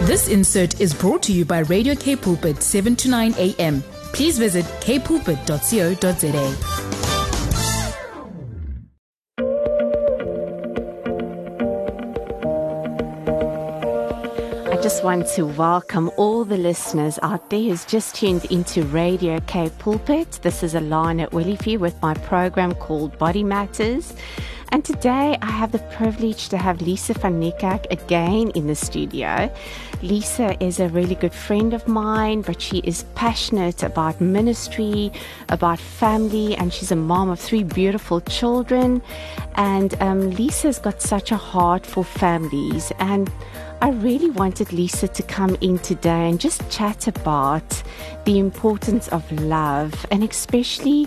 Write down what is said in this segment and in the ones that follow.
This insert is brought to you by Radio K Pulpit 7 to 9 a.m. Please visit kpulpit.co.za. I just want to welcome all the listeners out there who's just tuned into Radio K Pulpit. This is Alana Willifee with my program called Body Matters. And today I have the privilege to have Lisa van Niekerk again in the studio. Lisa is a really good friend of mine, but she is passionate about ministry, about family, and she's a mom of 3 beautiful children. And Lisa's got such a heart for families, and I really wanted Lisa to come in today and just chat about the importance of love, and especially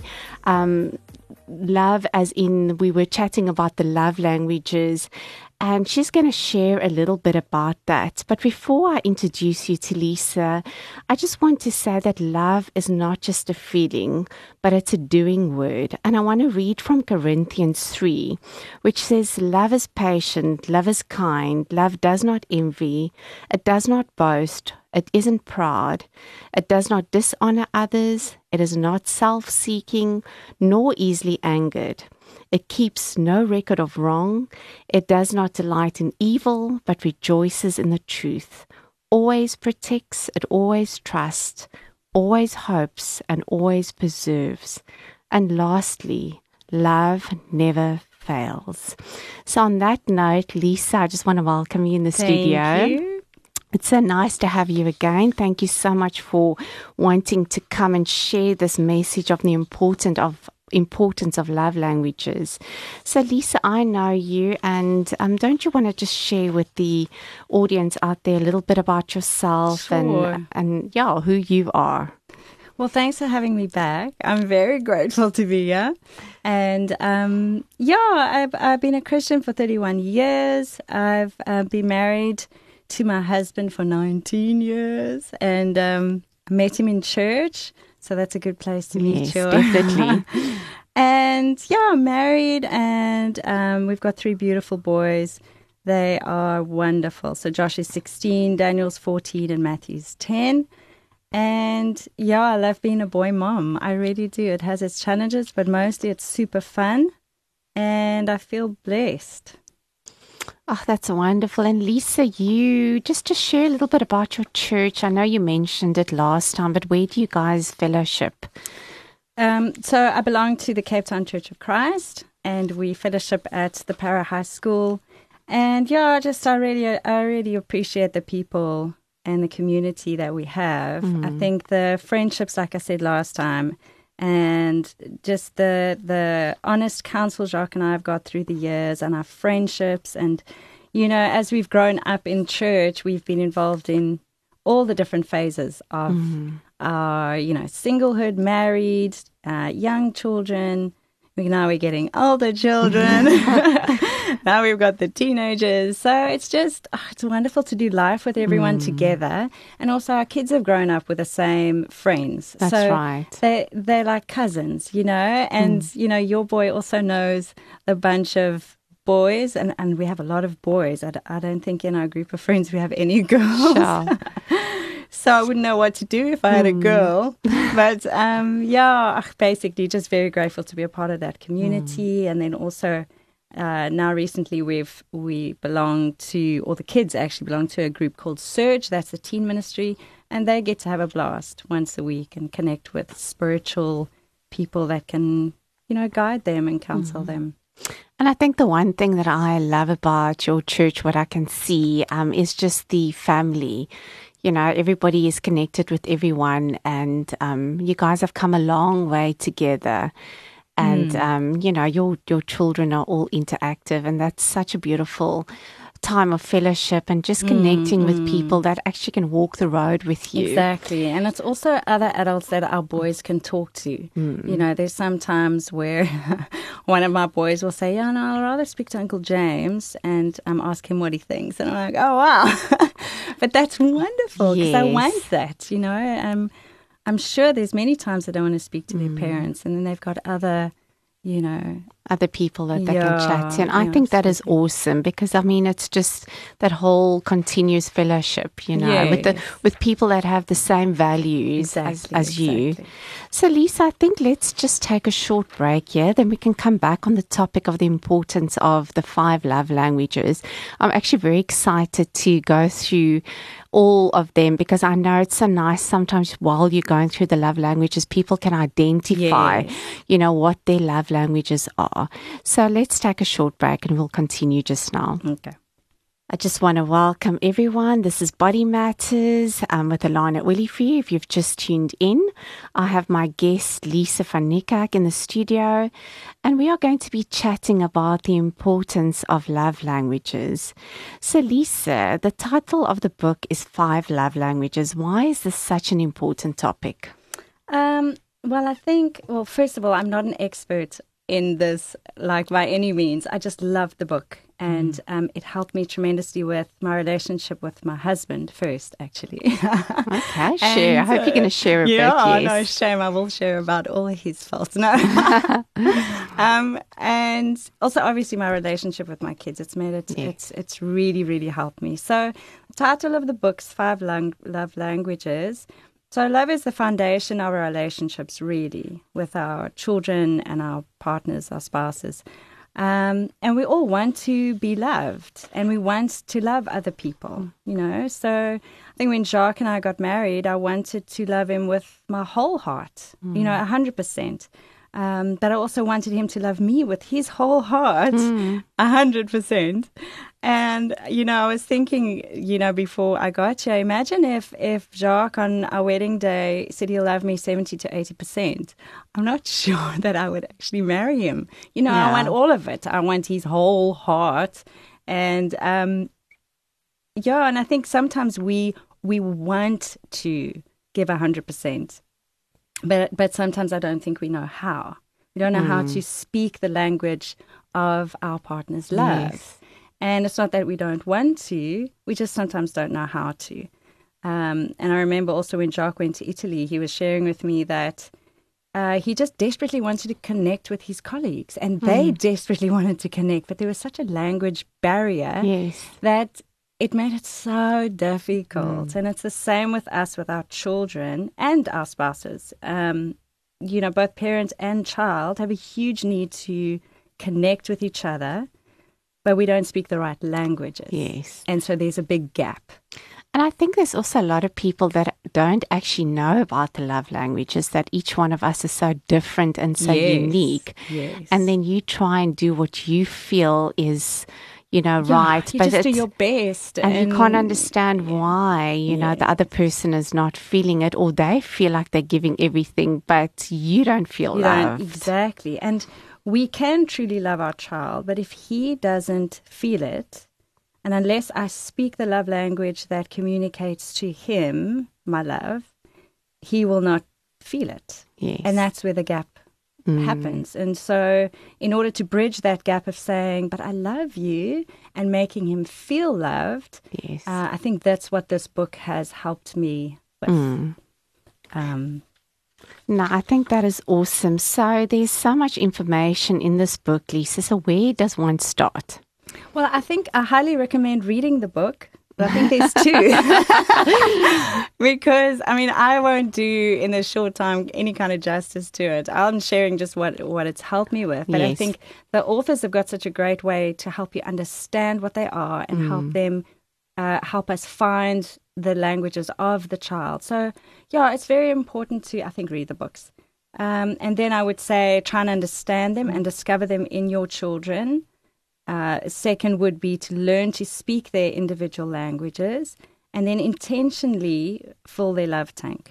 love as in we were chatting about the love languages, and she's going to share a little bit about that. But before I introduce you to Lisa, I just want to say that love is not just a feeling, but it's a doing word. And I want to read from Corinthians 3, which says, "Love is patient, love is kind, love does not envy, it does not boast, it isn't proud, it does not dishonor others, it is not self-seeking, nor easily angered. It keeps no record of wrong. It does not delight in evil, but rejoices in the truth. Always protects, it always trusts, always hopes, and always preserves. And lastly, love never fails." So on that note, Lisa, I just want to welcome you in the studio. Thank you. It's so nice to have you again. Thank you so much for wanting to come and share this message of the importance of love languages. So Lisa, I know you, and don't you want to just share with the audience out there a little bit about yourself? Sure. and who you are? Well, thanks for having me back. I'm very grateful to be here. And I've been a Christian for 31 years. I've been married to my husband for 19 years, and I met him in church. So that's a good place to meet you. Yes, definitely. And I'm married, and we've got 3 beautiful boys. They are wonderful. So Josh is 16, Daniel's 14, and Matthew's 10. And I love being a boy mom. I really do. It has its challenges, but mostly it's super fun, and I feel blessed. Oh, that's wonderful. And Lisa, you just to share a little bit about your church. I know you mentioned it last time, but where do you guys fellowship? So I belong to the Cape Town Church of Christ, and we fellowship at the Para High School. And I really appreciate the people and the community that we have. I think the friendships, like I said last time, and just the honest counsel Jacques and I have got through the years, and our friendships, and as we've grown up in church, we've been involved in all the different phases of our singlehood, married, young children. Now we're getting older children. Now we've got the teenagers. So it's just, it's wonderful to do life with everyone together. And also our kids have grown up with the same friends. That's right. They're like cousins, and, your boy also knows a bunch of boys, and we have a lot of boys. I don't think in our group of friends we have any girls. Sure. So I wouldn't know what to do if I had a girl. But basically just very grateful to be a part of that community. And then also now recently we belong to, or the kids actually belong to a group called Surge. That's a teen ministry. And they get to have a blast once a week and connect with spiritual people that can, guide them and counsel them. And I think the one thing that I love about your church, what I can see, is just the family. Everybody is connected with everyone, and you guys have come a long way together. And, your children are all interactive, and that's such a beautiful time of fellowship and just connecting with people that actually can walk the road with you. Exactly. And it's also other adults that our boys can talk to. There's some times where one of my boys will say, no, I'd rather speak to Uncle James and ask him what he thinks. And I'm like, oh, wow. But that's wonderful because I want that, I'm sure there's many times they don't want to speak to their parents, and then they've got other other people that they can chat to. And I think that is awesome because, I mean, it's just that whole continuous fellowship, you know, with people that have the same values as you. So, Lisa, I think let's just take a short break here. Then we can come back on the topic of the importance of the 5 love languages. I'm actually very excited to go through all of them because I know it's so nice sometimes while you're going through the love languages, people can identify, you know, what their love languages are. So let's take a short break and we'll continue just now. Okay. I just want to welcome everyone. This is Body Matters with Alana Willifee. If you've just tuned in, I have my guest Lisa van Niekerk in the studio, and we are going to be chatting about the importance of love languages. So, Lisa, the title of the book is 5 Love Languages. Why is this such an important topic? Well, I think, first of all, I'm not an expert in this, like, by any means. I just love the book. And it helped me tremendously with my relationship with my husband first, actually. Okay, share. I hope you're going to share about yes. No shame. I will share about all his faults. No. And also, obviously, my relationship with my kids. It's made it. It's really, really helped me. So, the title of the book's 5 Love Languages. So, love is the foundation of our relationships, really, with our children and our partners, our spouses. And we all want to be loved and we want to love other people, you know. So I think when Jacques and I got married, I wanted to love him with my whole heart, you know, 100%. But I also wanted him to love me with his whole heart, 100%. And, you know, I was thinking, you know, before I got here, imagine if Jacques on our wedding day said he'll love me 70 to 80%. I'm not sure that I would actually marry him. You know, I want all of it. I want his whole heart. And, and I think sometimes we want to give 100%. But sometimes I don't think we know how. We don't know how to speak the language of our partner's love. Yes. And it's not that we don't want to, we just sometimes don't know how to. And I remember also when Jacques went to Italy, he was sharing with me that he just desperately wanted to connect with his colleagues. And they desperately wanted to connect, but there was such a language barrier that it made it so difficult. And it's the same with us, with our children and our spouses. You know, both parent and child have a huge need to connect with each other, but we don't speak the right languages. Yes. And so there's a big gap. And I think there's also a lot of people that don't actually know about the love languages, that each one of us is so different and so unique. Yes. And then you try and do what you feel is, you know, right. You just do your best. And you can't understand why, you know, the other person is not feeling it, or they feel like they're giving everything, but you don't feel loved. Exactly. And we can truly love our child, but if he doesn't feel it, and unless I speak the love language that communicates to him, my love, he will not feel it. Yes. And that's where the gap happens. And so in order to bridge that gap of saying, but I love you, and making him feel loved, I think that's what this book has helped me with. No, I think that is awesome. So there's so much information in this book, Lisa. So where does one start? Well, I think I highly recommend reading the book. I think there's 2. Because, I mean, I won't do in this short time any kind of justice to it. I'm sharing just what it's helped me with. But I think the authors have got such a great way to help you understand what they are and help them, help us find the languages of the child. So, it's very important to, I think, read the books. And then I would say try and understand them and discover them in your children. Second would be to learn to speak their individual languages and then intentionally fill their love tank.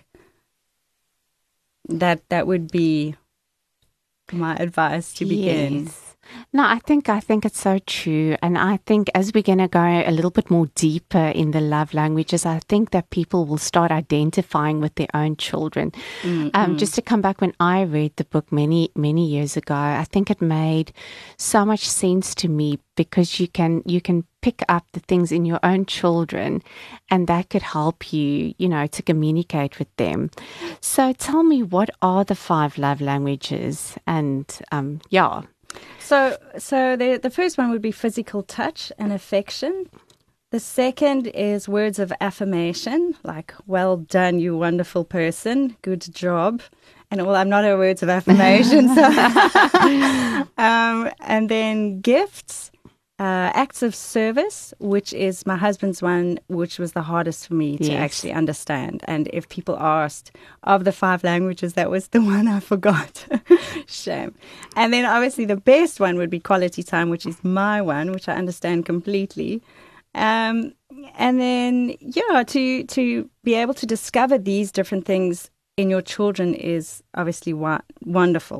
That would be my advice to begin. Yes. No, I think it's so true. And I think as we're going to go a little bit more deeper in the love languages, I think that people will start identifying with their own children. Just to come back, when I read the book many, many years ago, I think it made so much sense to me because you can pick up the things in your own children and that could help you, you know, to communicate with them. So tell me, what are the 5 love languages? And So the first one would be physical touch and affection. The second is words of affirmation, like, well done, you wonderful person, good job. And I'm not a words of affirmation. And then gifts, acts of service, which is my husband's one, which was the hardest for me to actually understand. And if people asked, of the 5 languages, that was the one I forgot. Shame. And then obviously the best one would be quality time, which is my one, which I understand completely. And then, to be able to discover these different things in your children is obviously wonderful.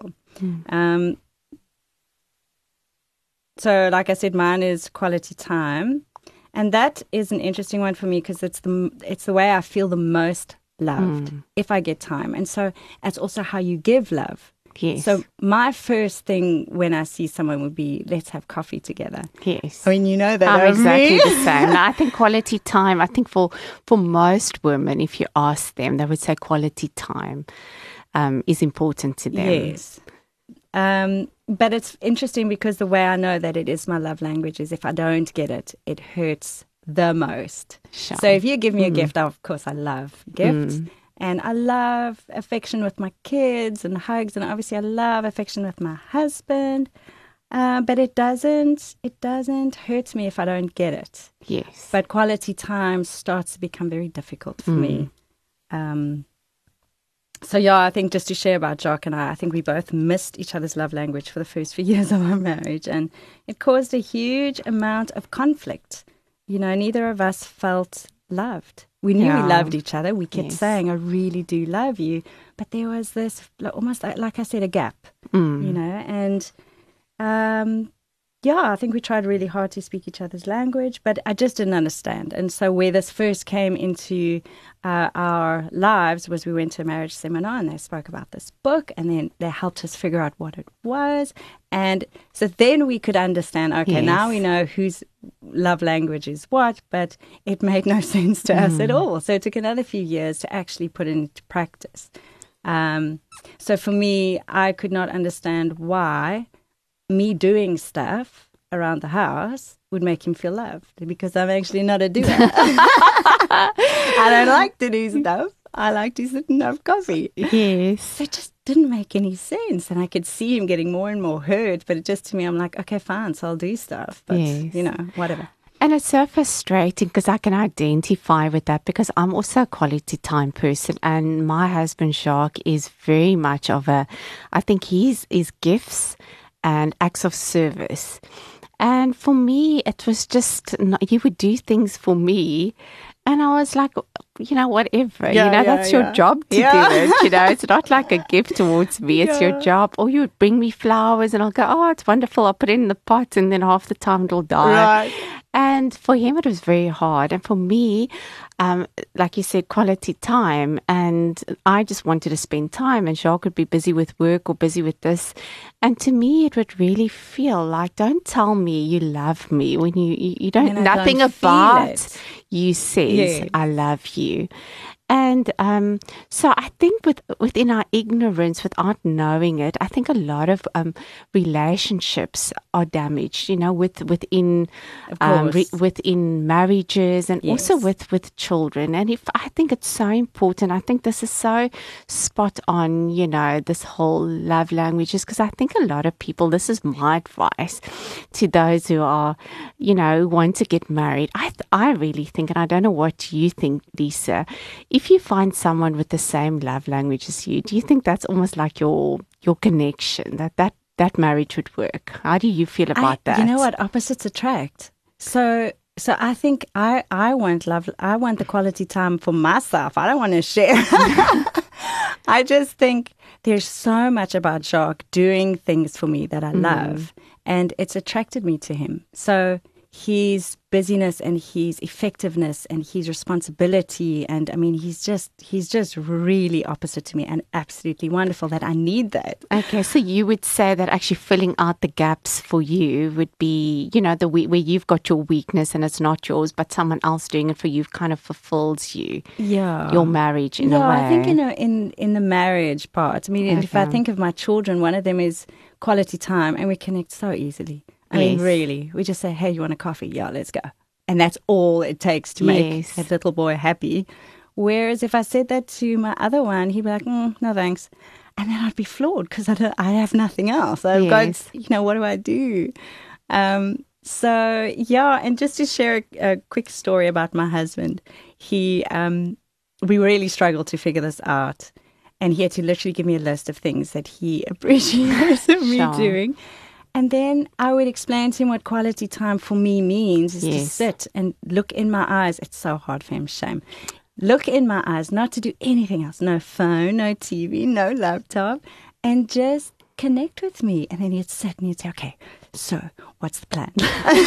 So, like I said, mine is quality time, and that is an interesting one for me because it's the way I feel the most loved if I get time, and so that's also how you give love. Yes. So my first thing when I see someone would be, let's have coffee together. Yes. I mean, you know that I'm exactly me. the same. I think quality time, I think for most women, if you ask them, they would say quality time is important to them. Yes. But it's interesting because the way I know that it is my love language is if I don't get it, it hurts the most. Sure. So if you give me a gift, of course I love gifts. And I love affection with my kids and hugs. And obviously I love affection with my husband. But it doesn't hurt me if I don't get it. Yes. But quality time starts to become very difficult for me. So, I think just to share about Jacques and I think we both missed each other's love language for the first few years of our marriage. And it caused a huge amount of conflict. You know, neither of us felt loved. We knew we loved each other. We kept saying, I really do love you. But there was this, almost like I said, a gap, you know. And, I think we tried really hard to speak each other's language, but I just didn't understand. And so where this first came into our lives was we went to a marriage seminar and they spoke about this book and then they helped us figure out what it was. And so then we could understand, now we know whose love language is what, but it made no sense to us at all. So it took another few years to actually put it into practice. So for me, I could not understand why me doing stuff around the house would make him feel loved because I'm actually not a doer. I don't like to do stuff. I like to sit and have coffee. Yes. So it just didn't make any sense. And I could see him getting more and more hurt. But it just, to me, I'm like, okay, fine, so I'll do stuff. But, whatever. And it's so frustrating because I can identify with that because I'm also a quality time person and my husband, Jacques, is very much of I think he's gifts and acts of service. And for me, it was just, he would do things for me. And I was like, whatever, that's your job to do it. It's not like a gift towards me. It's your job. Or you would bring me flowers and I'll go, oh, it's wonderful. I'll put it in the pot and then half the time it'll die. Right. And for him, it was very hard. And for me, like you said, quality time. And I just wanted to spend time. And Jacques would be busy with work or busy with this. And to me, it would really feel like, don't tell me you love me when you don't, nothing about you says, I love you. And so I think within our ignorance, without knowing it, I think a lot of relationships are damaged, within marriages and also with children. And I think it's so important. I think this is so spot on, this whole love languages, because I think a lot of people, this is my advice to those who are, want to get married. I really think, and I don't know what you think, Lisa, if you find someone with the same love language as you, do you think that's almost like your connection, that marriage would work? How do you feel about that? You know what? Opposites attract. So I think I want love. I want the quality time for myself. I don't want to share. I just think there's so much about Jacques doing things for me that I love, and it's attracted me to him. So his busyness and his effectiveness and his responsibility. And I mean, he's just really opposite to me and absolutely wonderful that I need that. Okay, so you would say that actually filling out the gaps for you would be, where you've got your weakness and it's not yours, but someone else doing it for you kind of fulfills you. Yeah. Your marriage in a way. I think, in the marriage part, I mean, if I think of my children, one of them is quality time and we connect so easily. I mean, really, we just say, hey, you want a coffee? Yeah, let's go. And that's all it takes to make that little boy happy. Whereas if I said that to my other one, he'd be like, no, thanks. And then I'd be floored because I have nothing else. I've got, what do I do? And just to share a quick story about my husband, we really struggled to figure this out. And he had to literally give me a list of things that he appreciates me doing. And then I would explain to him what quality time for me means is to sit and look in my eyes. It's so hard for him, shame. Look in my eyes, not to do anything else. No phone, no TV, no laptop. And just connect with me. And then he'd sit and he'd say, okay, so what's the plan?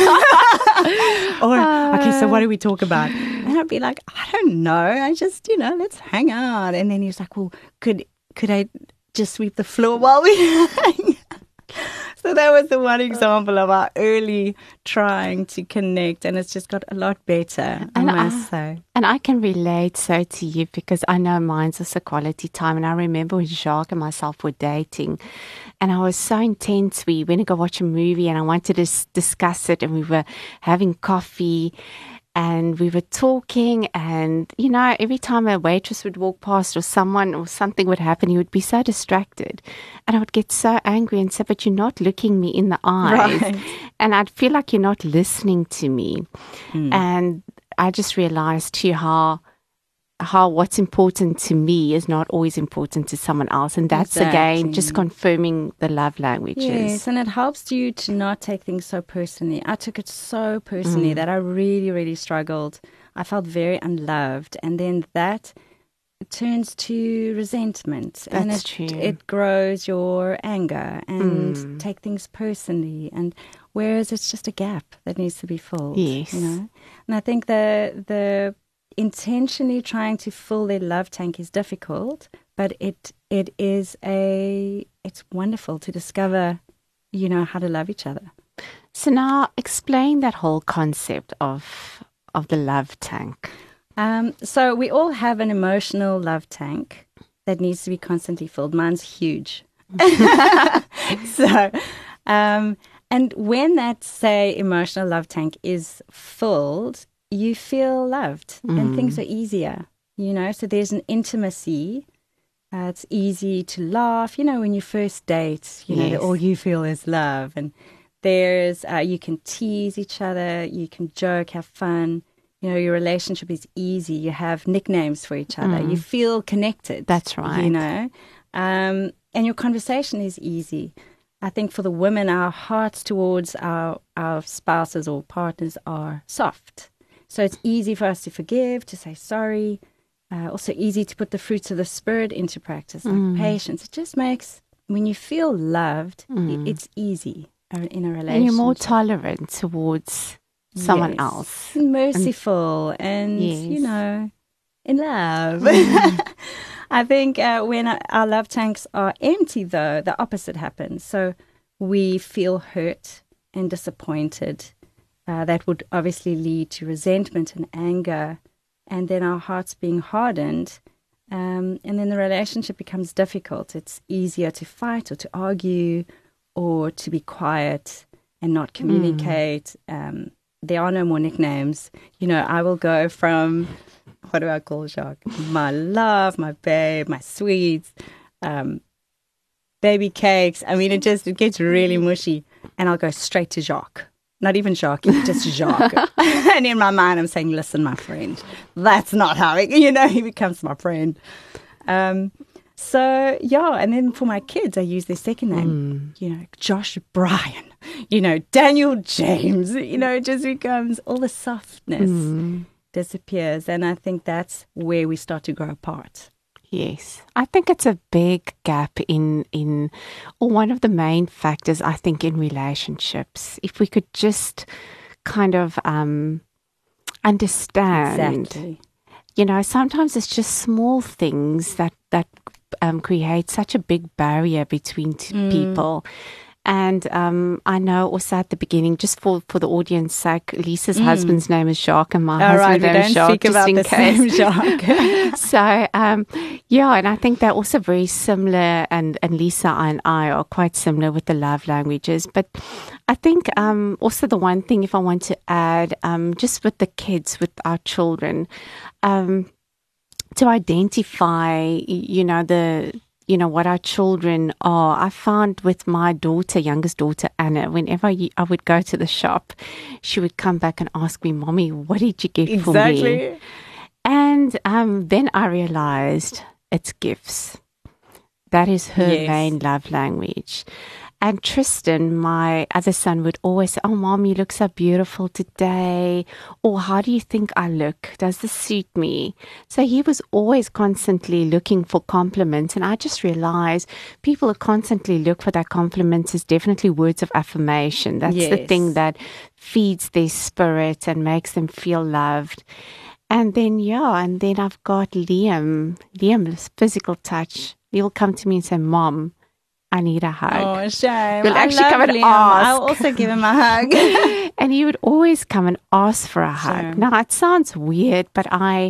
Okay, so what do we talk about? And I'd be like, I don't know. I just, let's hang out. And then he was like, well, could I just sweep the floor while we hang? So that was the one example of our early trying to connect, and it's just got a lot better, I must say. And I can relate so to you because I know mine's also quality time. And I remember when Jacques and myself were dating, and I was so intense. We went to go watch a movie, and I wanted to discuss it, and we were having coffee. And we were talking and, every time a waitress would walk past or someone or something would happen, he would be so distracted. And I would get so angry and say, but you're not looking me in the eyes. Right. And I'd feel like you're not listening to me. And I just realized too how what's important to me is not always important to someone else. And that's, again, just confirming the love languages. Yes, and it helps you to not take things so personally. I took it so personally that I really, really struggled. I felt very unloved. And then that turns to resentment. That's true. It grows your anger and take things personally. And whereas it's just a gap that needs to be filled. Yes. And I think the intentionally trying to fill their love tank is difficult, but it's wonderful to discover, how to love each other. So now explain that whole concept of the love tank. So we all have an emotional love tank that needs to be constantly filled. Mine's huge. And when that, say, emotional love tank is filled, you feel loved and things are easier, so there's an intimacy. It's easy to laugh, when you first date, all you feel is love. And there's, you can tease each other, you can joke, have fun. Your relationship is easy. You have nicknames for each other. You feel connected. That's right. And your conversation is easy. I think for the women, our hearts towards our spouses or partners are soft. So it's easy for us to forgive, to say sorry. Also easy to put the fruits of the Spirit into practice, like patience. It just makes, when you feel loved, it's easy in a relationship. And you're more tolerant towards someone else. Merciful and in love. I think when our love tanks are empty, though, the opposite happens. So we feel hurt and disappointed. That would obviously lead to resentment and anger, and then our hearts being hardened, and then the relationship becomes difficult. It's easier to fight or to argue or to be quiet and not communicate. There are no more nicknames. I will go from, what do I call Jacques? My love, my babe, my sweets, baby cakes. I mean, it gets really mushy, and I'll go straight to Jacques. Not even Jacques, just Jacques. And in my mind, I'm saying, listen, my friend, that's not how he becomes my friend. And then for my kids, I use their second name, Josh Brian, Daniel James, it just becomes, all the softness disappears. And I think that's where we start to grow apart. Yes, I think it's a big gap or one of the main factors, I think, in relationships. If we could just kind of understand. Exactly. You know, sometimes it's just small things that create such a big barrier between people. And I know also at the beginning, just for the audience sake, Lisa's husband's name is Jacques and my husband's name is Jacques, just in case. Jacques. So, yeah, and I think they're also very similar, and Lisa and I are quite similar with the love languages. But I think also the one thing, if I want to add, just with the kids, with our children, to identify, what our children are. I found with my daughter, youngest daughter, Anna, whenever I would go to the shop, she would come back and ask me, Mommy, what did you get for me? And then I realized it's gifts. That is her main love language. And Tristan, my other son, would always say, oh, Mom, you look so beautiful today. Or how do you think I look? Does this suit me? So he was always constantly looking for compliments. And I just realized people who constantly look for that compliments is definitely words of affirmation. That's the thing that feeds their spirit and makes them feel loved. And then, I've got Liam's physical touch. He'll come to me and say, Mom, I need a hug. Oh, shame. You'll actually come and Liam. ask. I'll also give him a hug. And he would always come and ask for a hug. Sure. Now, it sounds weird, but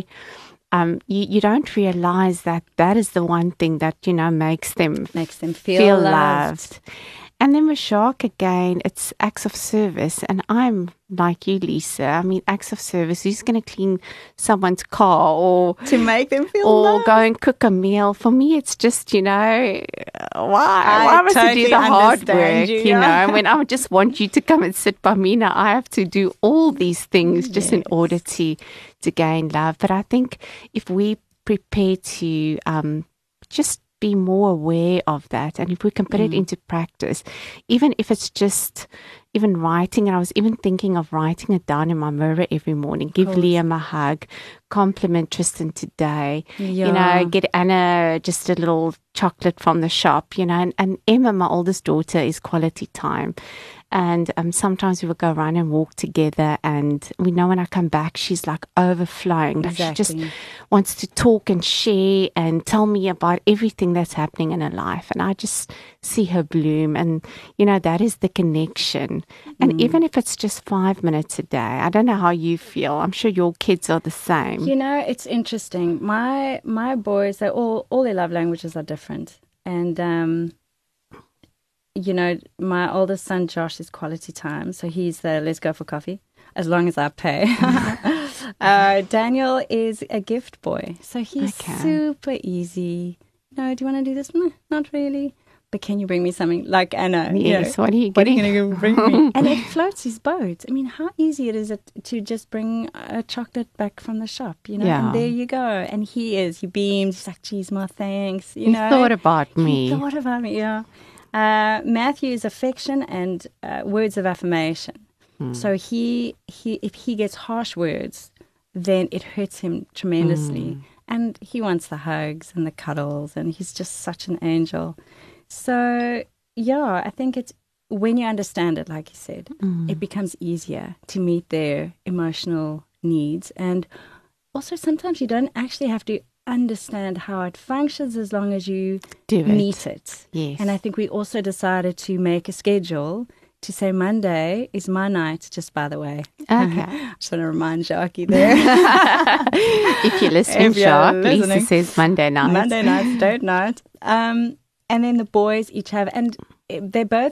you don't realize that is the one thing that, makes them feel loved. And then with Jacques, again, it's acts of service. And I'm like you, Lisa. I mean, acts of service. Who's going to clean someone's car or to make them feel or loved. Go and cook a meal? For me, it's just, why? Why must I do the hard work? And when I just want you to come and sit by me, now I have to do all these things just in order to gain love. But I think if we prepare to just be more aware of that, and if we can put it into practice, even if it's just even writing, and I was even thinking of writing it down in my mirror every morning, give Liam a hug, compliment Tristan today, get Anna just a little chocolate from the shop, and Emma, my oldest daughter, is quality time. And sometimes we will go around and walk together, and we know when I come back, she's like overflowing. Like she just wants to talk and share and tell me about everything that's happening in her life. And I just see her bloom, and, that is the connection. And even if it's just 5 minutes a day, I don't know how you feel. I'm sure your kids are the same. It's interesting. My boys, they all their love languages are different. And, my oldest son, Josh, is quality time. So he's the let's go for coffee, as long as I pay. Daniel is a gift boy. So he's super easy. Do you want to do this? No, not really. But can you bring me something? Like Anna. Yes, what are you getting? What are you going to bring me? And it floats his boat. I mean, how easy it is to just bring a chocolate back from the shop, And there you go. And he beams. He's like, geez, Ma, thanks. He thought about me. He thought about me, yeah. Matthew is affection and words of affirmation. So if he gets harsh words, then it hurts him tremendously. And he wants the hugs and the cuddles, and he's just such an angel. So, I think it's when you understand it, like you said, it becomes easier to meet their emotional needs. And also sometimes you don't actually have to understand how it functions as long as you meet it. Yes. And I think we also decided to make a schedule to say Monday is my night, just by the way. Okay. I just want to remind Jacques there. If you're listening, Jacques, Lisa says Monday night. Monday nights, date night. And then the boys each have, and they both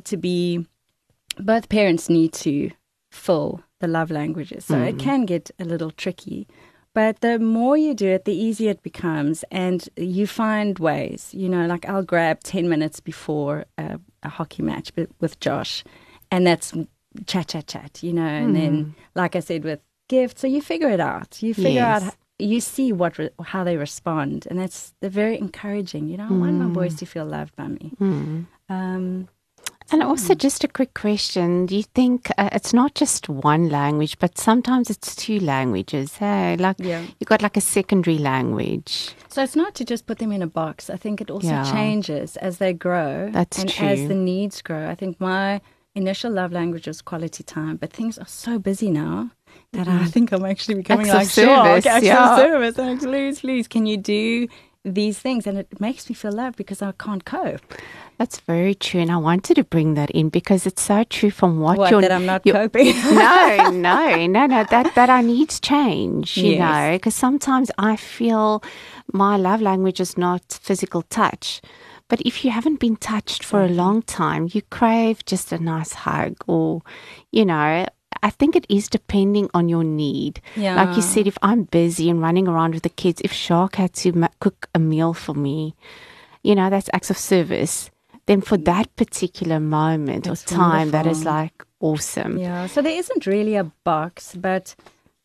parents need to fill the love languages. So it can get a little tricky. But the more you do it, the easier it becomes. And you find ways, like I'll grab 10 minutes before a hockey match with Josh. And that's chat, and then, like I said, with gifts. So you figure it out. You figure out, you see how they respond. And they're very encouraging. I want my boys to feel loved by me. And also just a quick question. Do you think it's not just one language, but sometimes it's two languages? Hey, you've got like a secondary language. So it's not to just put them in a box. I think it also changes as they grow. That's true. As the needs grow. I think my initial love language was quality time, but things are so busy now that I think I'm actually becoming like, service, acts yeah. of service. I'm like, please, can you do these things? And it makes me feel loved because I can't cope. That's very true, and I wanted to bring that in because it's so true from what that I'm not coping. No. That our needs change, you know, because sometimes I feel my love language is not physical touch. But if you haven't been touched for a long time, you crave just a nice hug or, you know, I think it is depending on your need. Yeah. Like you said, if I'm busy and running around with the kids, if Shark had to cook a meal for me, you know, that's acts of service. Then for that particular moment or time, that is like awesome. Yeah, so there isn't really a box, but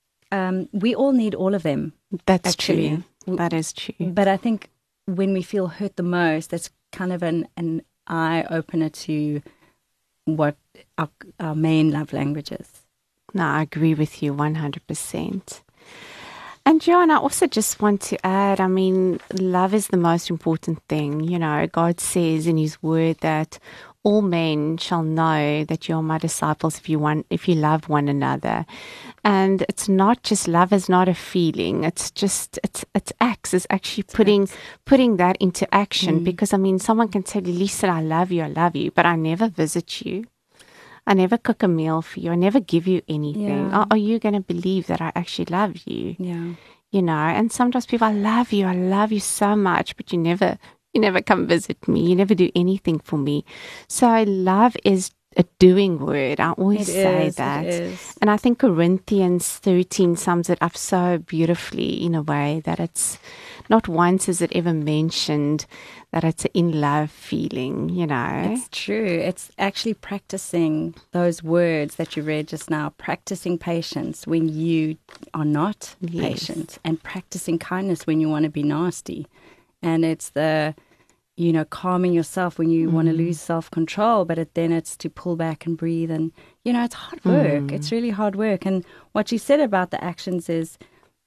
we all need all of them. That's true. That is true. But I think when we feel hurt the most, that's kind of an eye-opener to what our main love language is. No, I agree with you 100%. And Joanne, I also just want to add, I mean, love is the most important thing. You know, God says in his word that all men shall know that you are my disciples if you love one another. And it's not just love is not a feeling. It's just, it's acts. It's actually putting that into action. Because, I mean, someone can tell you, Lisa, I love you, but I never visit you. I never cook a meal for you. I never give you anything. Yeah. Are you going to believe that I actually love you? Yeah. You know, and sometimes people, I love you so much, but you never come visit me. You never do anything for me. So love is a doing word. I always say that. It is. And I think Corinthians 13 sums it up so beautifully in a way that it's not once is it ever mentioned that it's an in love feeling, you know. It's true. It's actually practicing those words that you read just now, practicing patience when you are not patient, and practicing kindness when you want to be nasty. And it's the, you know, calming yourself when you want to lose self-control, but then it's to pull back and breathe. And, you know, it's hard work. It's really hard work. And what you said about the actions is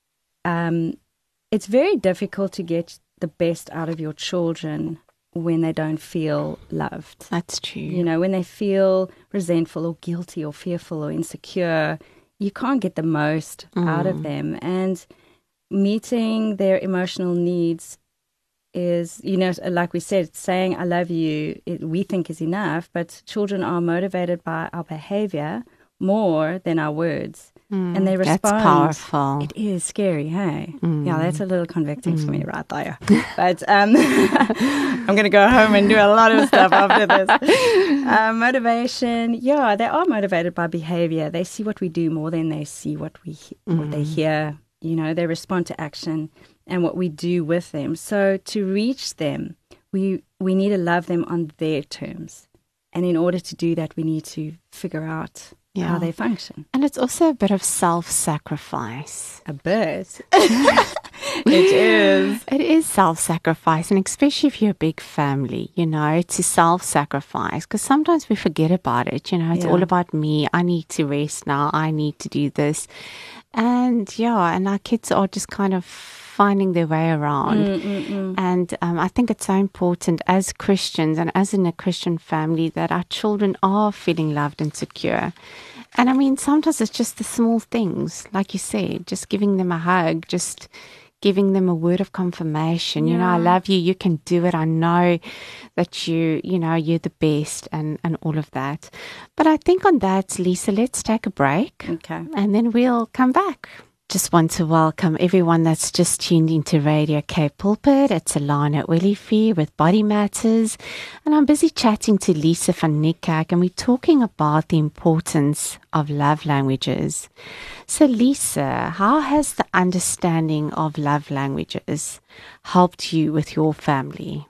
it's very difficult to get the best out of your children when they don't feel loved. That's true. You know, when they feel resentful or guilty or fearful or insecure, you can't get the most out of them. And meeting their emotional needs is, you know, like we said, saying I love you, we think is enough, but children are motivated by our behavior more than our words. And they respond. That's powerful. It is scary, hey? Yeah, that's a little convicting for me right there. But I'm going to go home and do a lot of stuff after this. Motivation, yeah, they are motivated by behavior. They see what we do more than they see what they hear. You know, they respond to action and what we do with them. So to reach them, we need to love them on their terms. And in order to do that, we need to figure out how they function. And it's also a bit of self-sacrifice. A bit. It is. It is self-sacrifice, and especially if you're a big family, you know, to self-sacrifice, because sometimes we forget about it, you know, it's all about me. I need to rest now. I need to do this. And and our kids are just kind of finding their way around. And I think it's so important as Christians and as in a Christian family that our children are feeling loved and secure. And I mean, sometimes it's just the small things, like you said, just giving them a hug, just giving them a word of confirmation. You know, I love you. You can do it. I know that you're the best and all of that. But I think on that, Lisa, let's take a break. Okay. And then we'll come back. Just want to welcome everyone that's just tuned into Radio Cape Pulpit. It's Alana Willifee with Body Matters. And I'm busy chatting to Lisa van Niekerk, and we're talking about the importance of love languages. So Lisa, how has the understanding of love languages helped you with your family?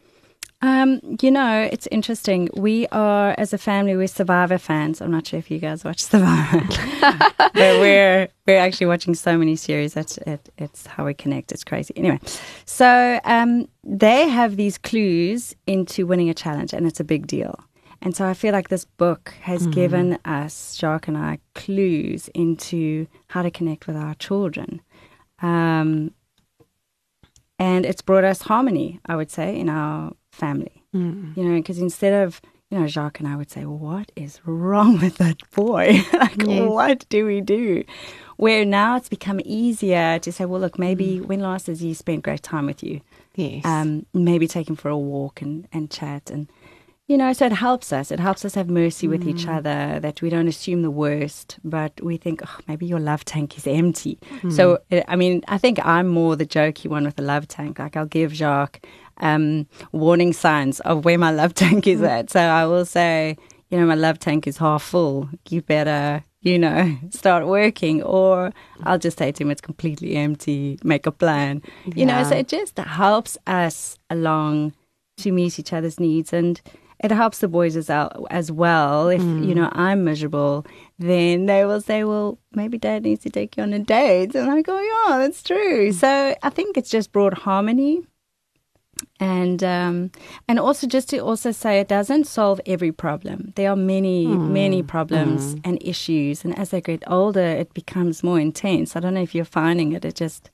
You know, it's interesting. We are, as a family, we're Survivor fans. I'm not sure if you guys watch Survivor, but we're actually watching so many series. It's how we connect. It's crazy. Anyway, so they have these clues into winning a challenge, and it's a big deal. And so I feel like this book has given us, Jacques and I, clues into how to connect with our children. And it's brought us harmony, I would say, in our family. You know, because instead of, Jacques and I would say, what is wrong with that boy? What do we do? Where now it's become easier to say, well, look, maybe when last has he spent great time with you? Yes. Maybe take him for a walk and chat. And, so it helps us. It helps us have mercy with each other, that we don't assume the worst, but we think, maybe your love tank is empty. So, I think I'm more the jokey one with the love tank. Like I'll give Jacques warning signs of where my love tank is at. So I will say, my love tank is half full. You better, start working. Or I'll just say to him, it's completely empty. Make a plan. So it just helps us along to meet each other's needs. And it helps the boys as well. If, I'm miserable, then they will say, well, maybe Dad needs to take you on a date. And I go, yeah, that's true. So I think it's just brought harmony. And also just to also say it doesn't solve every problem. There are many problems and issues. And as they get older, it becomes more intense. I don't know if you're finding it. It just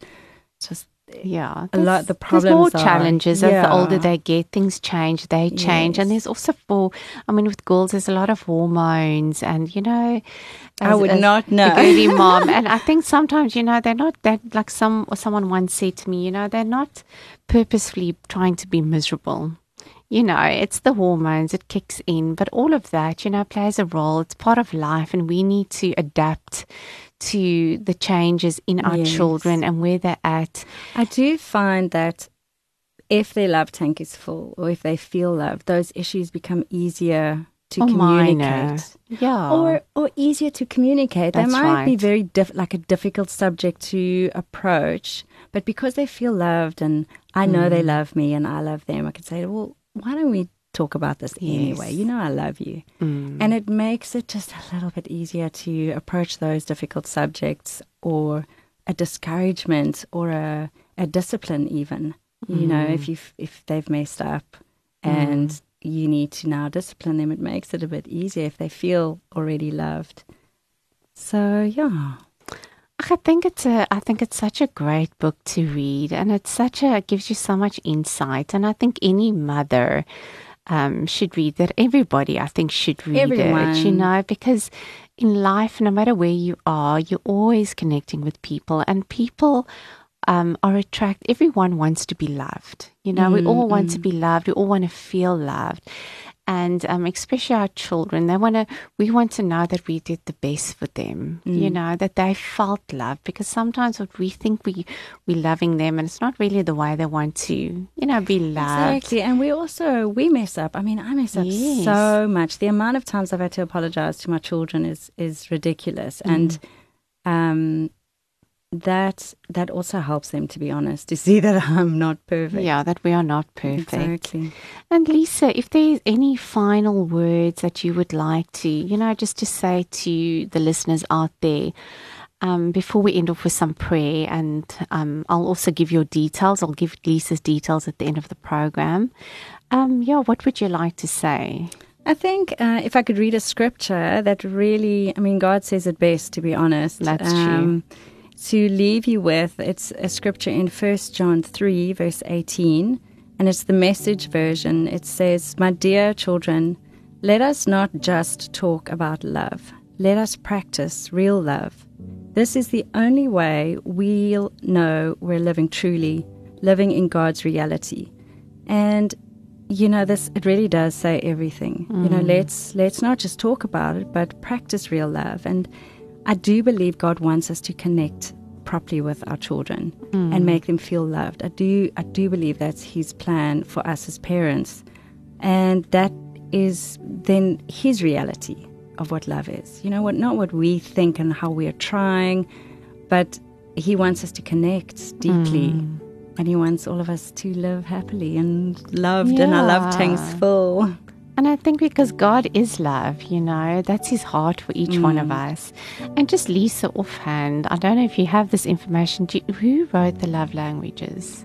a lot. The problems there's more are, challenges as the older they get. Things change. They change, and there's also with girls, there's a lot of hormones, and I would not know. The girly mom, and I think sometimes they're not that, like someone once said to me, they're not purposefully trying to be miserable. It's the hormones, it kicks in, but all of that, plays a role. It's part of life, and we need to adapt to the changes in our children and where they're at. I do find that if their love tank is full, or if they feel loved, those issues become easier to communicate. Yeah. Or easier to communicate. That's they might be right. very like a difficult subject to approach, but because they feel loved and I know they love me and I love them, I can say, well, why don't we talk about this anyway? I love you. And it makes it just a little bit easier to approach those difficult subjects, or a discouragement, or a discipline even. If they've messed up and you need to now discipline them, it makes it a bit easier if they feel already loved. So, yeah. I think it's such a great book to read, and it gives you so much insight. And I think any mother should read that. Everybody, I think, should read it, because in life, no matter where you are, you're always connecting with people, and people everyone wants to be loved. We all want to be loved. We all want to feel loved. And especially our children, we want to know that we did the best for them, that they felt love. Because sometimes what we think we're loving them, and it's not really the way they want to, be loved. Exactly. And we mess up. I mess up so much. The amount of times I've had to apologize to my children is ridiculous. And that also helps them, to be honest, to see that I'm not perfect. Yeah, that we are not perfect. Exactly. And Lisa, if there's any final words that you would like to, just to say to the listeners out there, before we end off with some prayer, and I'll also give your details. I'll give Lisa's details at the end of the program. What would you like to say? I think if I could read a scripture that really, God says it best, to be honest. That's true. To leave you with, it's a scripture in 1 John 3, verse 18, and it's the Message version. It says, "My dear children, let us not just talk about love. Let us practice real love. This is the only way we'll know we're living truly, living in God's reality." And it really does say everything. Let's not just talk about it, but practice real love. And I do believe God wants us to connect properly with our children and make them feel loved. I do believe that's His plan for us as parents, and that is then His reality of what love is. Not what we think and how we are trying, but He wants us to connect deeply. And He wants all of us to live happily and loved, and our love tank's full. And I think because God is love, that's His heart for each one of us. And just Lisa, offhand, I don't know if you have this information. Who wrote the love languages?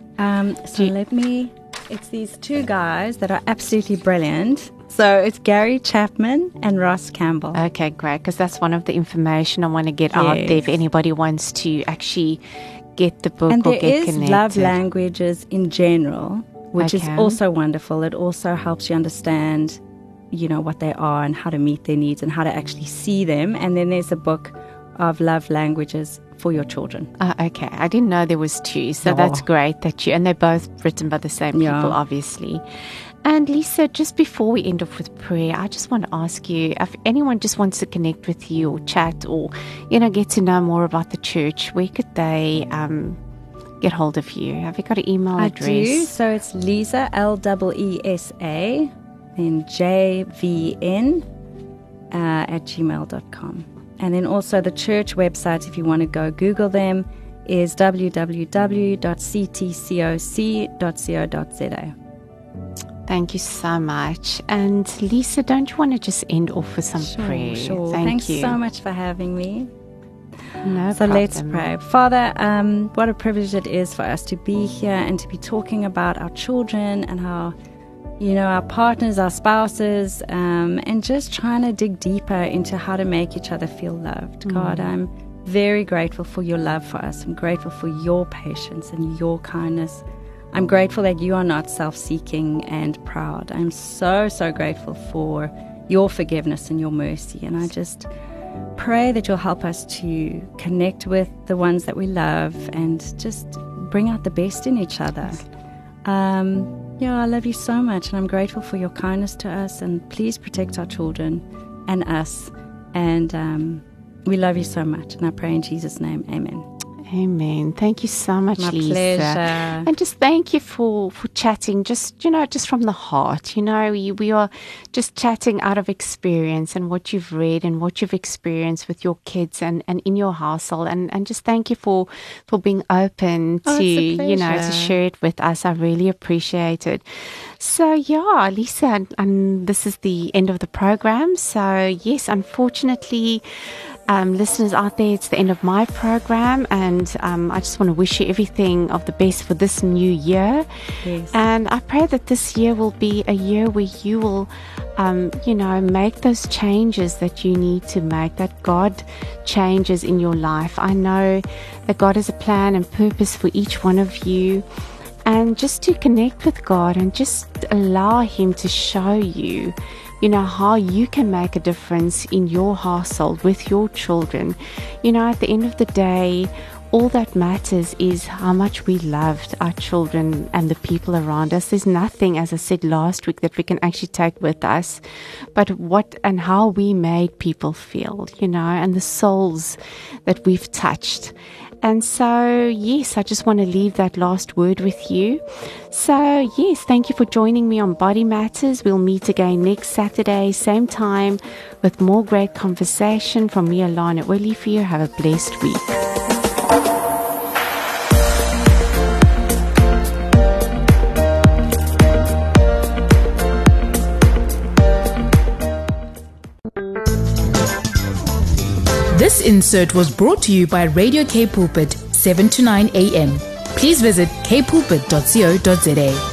It's these two guys that are absolutely brilliant. So it's Gary Chapman and Ross Campbell. Okay, great, because that's one of the information I want to get out there if anybody wants to actually get the book or get connected. And there is love languages in general, which is also wonderful. It also helps you understand, what they are and how to meet their needs and how to actually see them. And then there's a book of love languages for your children. Okay. I didn't know there was 2. So that's great and they're both written by the same people, obviously. And Lisa, just before we end off with prayer, I just want to ask you, if anyone just wants to connect with you or chat or, get to know more about the church, where could they get hold of you? Have you got an email address? I do. So it's Lisa, LEESA, then JVN at gmail.com. And then also the church website, if you want to go Google them, is www.ctcoc.co.za. Thank you so much. And Lisa, don't you want to just end off with some prayer? Sure. Thanks Thanks so much for having me. No So problem. let's pray. Father, what a privilege it is for us to be here and to be talking about our children and how, our partners, our spouses, and just trying to dig deeper into how to make each other feel loved. God, I'm very grateful for your love for us. I'm grateful for your patience and your kindness. I'm grateful that you are not self-seeking and proud. I'm so, so grateful for your forgiveness and your mercy. And I just pray that you'll help us to connect with the ones that we love and just bring out the best in each other. I love you so much, and I'm grateful for your kindness to us. And please protect our children and us. And we love you so much. And I pray in Jesus' name, amen. Amen. Thank you so much, My Lisa. pleasure. And just thank you for chatting, just from the heart. We are just chatting out of experience and what you've read and what you've experienced with your kids and in your household. And just thank you for being open to, to share it with us. I really appreciate it. So, Lisa, and this is the end of the program. So, yes, unfortunately, listeners out there, it's the end of my program, and I just want to wish you everything of the best for this new year. Yes. And I pray that this year will be a year where you will make those changes that you need to make, that God changes in your life. I know that God has a plan and purpose for each one of you, and just to connect with God and just allow Him to show you how you can make a difference in your household with your children. At the end of the day, all that matters is how much we loved our children and the people around us. There's nothing, as I said last week, that we can actually take with us, but what and how we made people feel, and the souls that we've touched. And so, yes, I just want to leave that last word with you. So, yes, thank you for joining me on Body Matters. We'll meet again next Saturday, same time, with more great conversation from me, Alana Olivier. Have a blessed week. This insert was brought to you by Radio K Pulpit, 7 to 9 a.m. Please visit kpulpit.co.za.